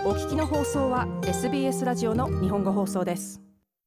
お聞きの放送は SBS ラジオの日本語放送です。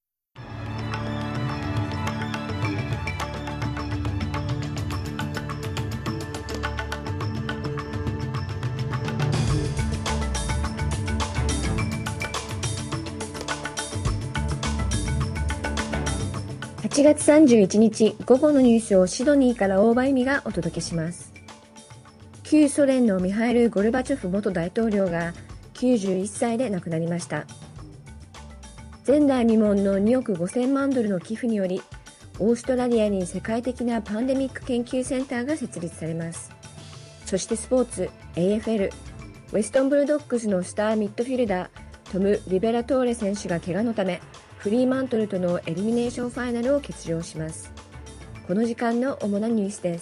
8月31日午後のニュースをシドニーから大場恵美がお届けします。旧ソ連のミハイル・ゴルバチョフ元大統領が91歳で亡くなりました。前代未聞の2億5000万ドルの寄付により、オーストラリアに世界的なパンデミック研究センターが設立されます。そしてスポーツ AFL、ウェストンブルドッグスのスターミッドフィルダートム・リベラトーレ選手が怪我のため、フリーマントルとのエリミネーションファイナルを欠場します。この時間の主なニュースです。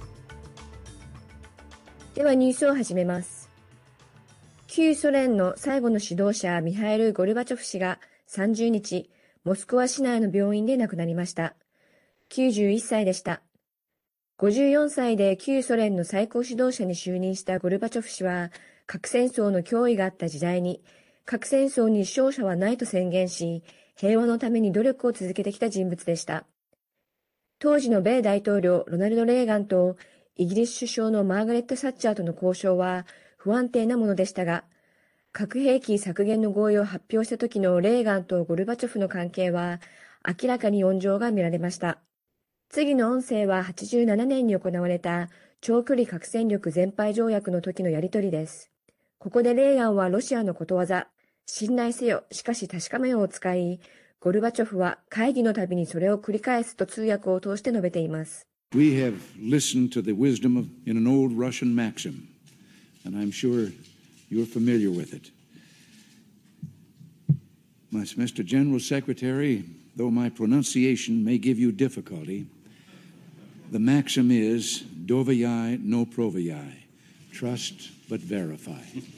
ではニュースを始めます。旧ソ連の最後の指導者ミハイル・ゴルバチョフ氏が30日、モスクワ市内の病院で亡くなりました。91歳でした。54歳で旧ソ連の最高指導者に就任したゴルバチョフ氏は、核戦争の脅威があった時代に、核戦争に勝者はないと宣言し、平和のために努力を続けてきた人物でした。当時の米大統領ロナルド・レーガンとイギリス首相のマーガレット・サッチャーとの交渉は不安定なものでしたが、核兵器削減の合意を発表した時のレーガンとゴルバチョフの関係は明らかに温情が見られました。次の音声は87年に行われた長距離核戦力全廃条約の時のやり取りです。ここでレーガンはロシアのことわざ、信頼せよ、しかし確かめよを使い、ゴルバチョフは会議のたびにそれを繰り返すと通訳を通して述べています。 We have listened to the wisdom in an old Russian maxim, and I'm sure you're familiar with it. Mr. General Secretary, though my pronunciation may give you difficulty, the maxim is doveryae no proveryae, trust but verify.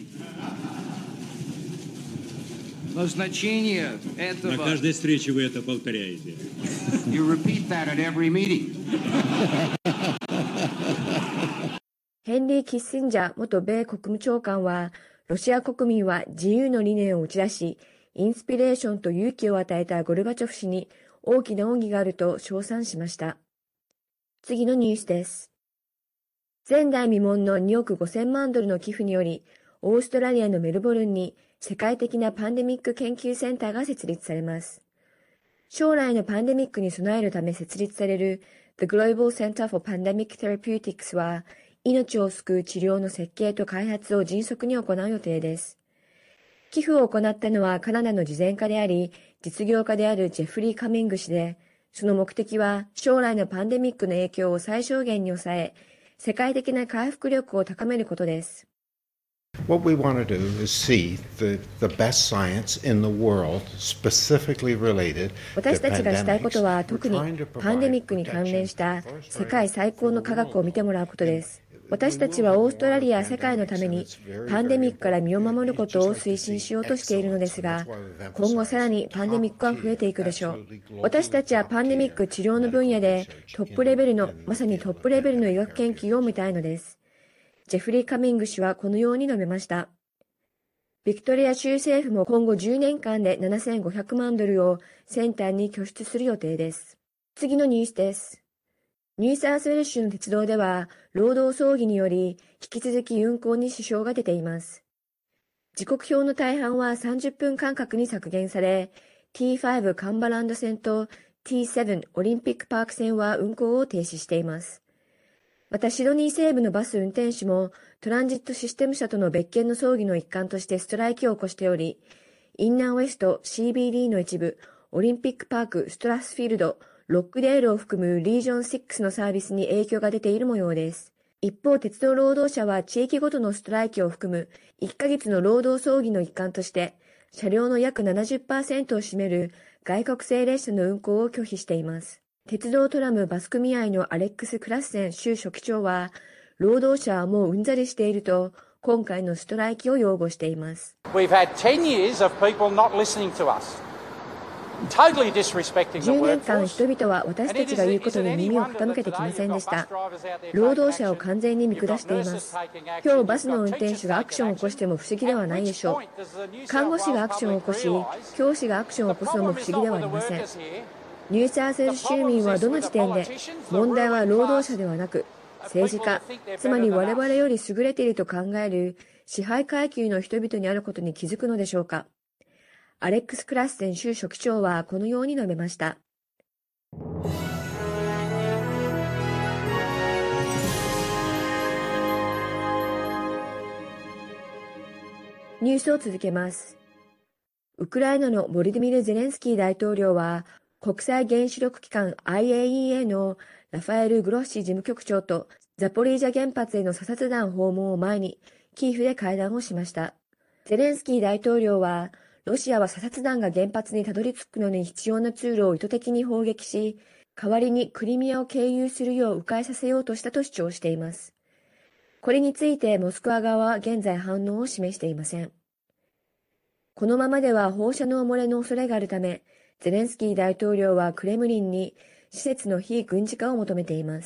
Назначение этого... На каждой встрече вы это повторяете. You repeat that at every meeting. ヘンリー・キッシンジャー元米国務長官は、ロシア国民は自由の理念を打ち出し、インスピレーションと勇気を与えたゴルバチョフ氏に大きな恩義があると称賛しました。次のニュースです。前代未聞の2億5000万ドルの寄付により、オーストラリアのメルボルンに世界的なパンデミック研究センターが設立されます。将来のパンデミックに備えるため設立される The Global Center for Pandemic Therapeutics は、命を救う治療の設計と開発を迅速に行う予定です。寄付を行ったのはカナダの慈善家であり、実業家であるジェフリー・カミング氏で、その目的は将来のパンデミックの影響を最小限に抑え、世界的な回復力を高めることです。 What we want to do is see the best science in the world specifically related to 私たちがしたいことは pandemics. 特にパンデミックに関連した世界最高の科学を見てもらうことです。私たちはオーストラリアや世界のためにパンデミックから身を守ることを推進しようとしているのですが、今後さらにパンデミックは増えていくでしょう。私たちはパンデミック治療の分野でトップレベルの、まさにトップレベルの医学研究を見たいのです。ジェフリー・カミング氏はこのように述べました。ビクトリア州政府も今後10年間で7500万ドルをセンターに拠出する予定です。次のニュースです。ニューサウスウェル州の鉄道では労働争議により引き続き運行に支障が出ています。時刻表の大半は30分間隔に削減され、T5 カンバランド線と T7 オリンピックパーク線は運行を停止しています。またシドニー西部のバス運転手もトランジットシステム社との別件の争議の一環としてストライキを起こしており、インナーウェスト CBD の一部、オリンピックパークストラスフィールド、ロックデールを含むリージョン6のサービスに影響が出ている模様です。一方、鉄道労働者は地域ごとのストライキを含む1ヶ月の労働争議の一環として、車両の約 70% を占める外国製列車の運行を拒否しています。鉄道トラムバス組合のアレックス・クラッセン州書記長は、労働者はもううんざりしていると、今回のストライキを擁護しています。 We've had 10 years of people not listening to us. 10年間人々は私たちが言うことに耳を傾けてきませんでした。労働者を完全に見下しています。今日バスの運転手がアクションを起こしても不思議ではないでしょう。看護師がアクションを起こし、教師がアクションを起こすのも不思議ではありません。ニューサーセル州民はどの時点で問題は労働者ではなく政治家、つまり我々より優れていると考える支配階級の人々にあることに気づくのでしょうか。アレックス・クラッセン州書記長はこのように述べました。ニュースを続けます。ウクライナのボルディミル・ゼレンスキー大統領は国際原子力機関 IAEA のラファエル・グロッシ事務局長とザポリージャ原発への査察団訪問を前にキーフで会談をしました。ゼレンスキー大統領はロシアは査察団が原発にたどり着くのに必要な通路を意図的に砲撃し、代わりにクリミアを経由するよう迂回させようとしたと主張しています。これについてモスクワ側は現在反応を示していません。このままでは放射能漏れの恐れがあるため、ゼレンスキー大統領はクレムリンに施設の非軍事化を求めています。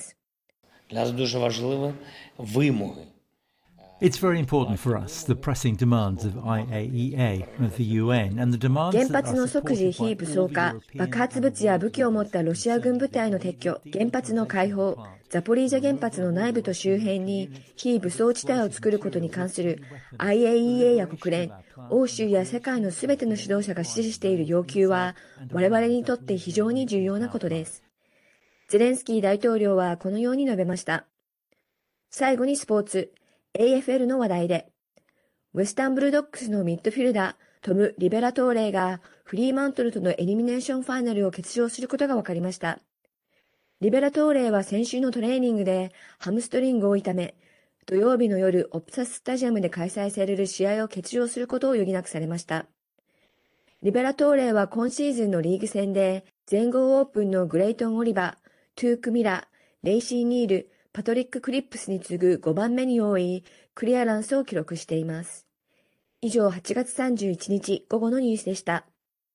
It's very important for us, the pressing demands of IAEA, of the UN, and the demands that 原発の即時非武装化、爆発物や武器を持ったロシア軍部隊の撤去、原発の開放、ザポリージャ原発の内部と周辺に非武装地帯を作ることに関する IAEA や国連、欧州や世界のすべての指導者が支持している要求は我々にとって非常に重要なことです。ゼレンスキー大統領はこのように述べました。最後にスポーツ。AFL の話題で、ウェスタンブルドッグスのミッドフィルダー、トム・リベラトーレーがフリーマントルとのエリミネーションファイナルを欠場することが分かりました。リベラトーレーは先週のトレーニングでハムストリングを痛め、土曜日の夜オプサススタジアムで開催される試合を欠場することを余儀なくされました。リベラトーレーは今シーズンのリーグ戦で全豪オープンのグレイトン・オリバー、トゥーク・ミラー、レイシー・ニール、パトリック・クリップスに次ぐ5番目に多いクリアランスを記録しています。以上、8月31日午後のニュースでした。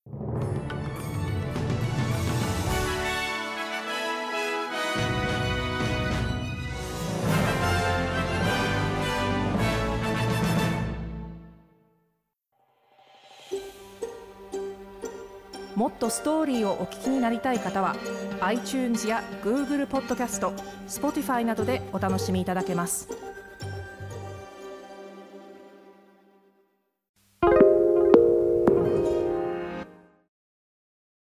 もっとストーリーをお聞きになりたい方は iTunes や Google ポッドキャスト、Spotify などでお楽しみいただけます。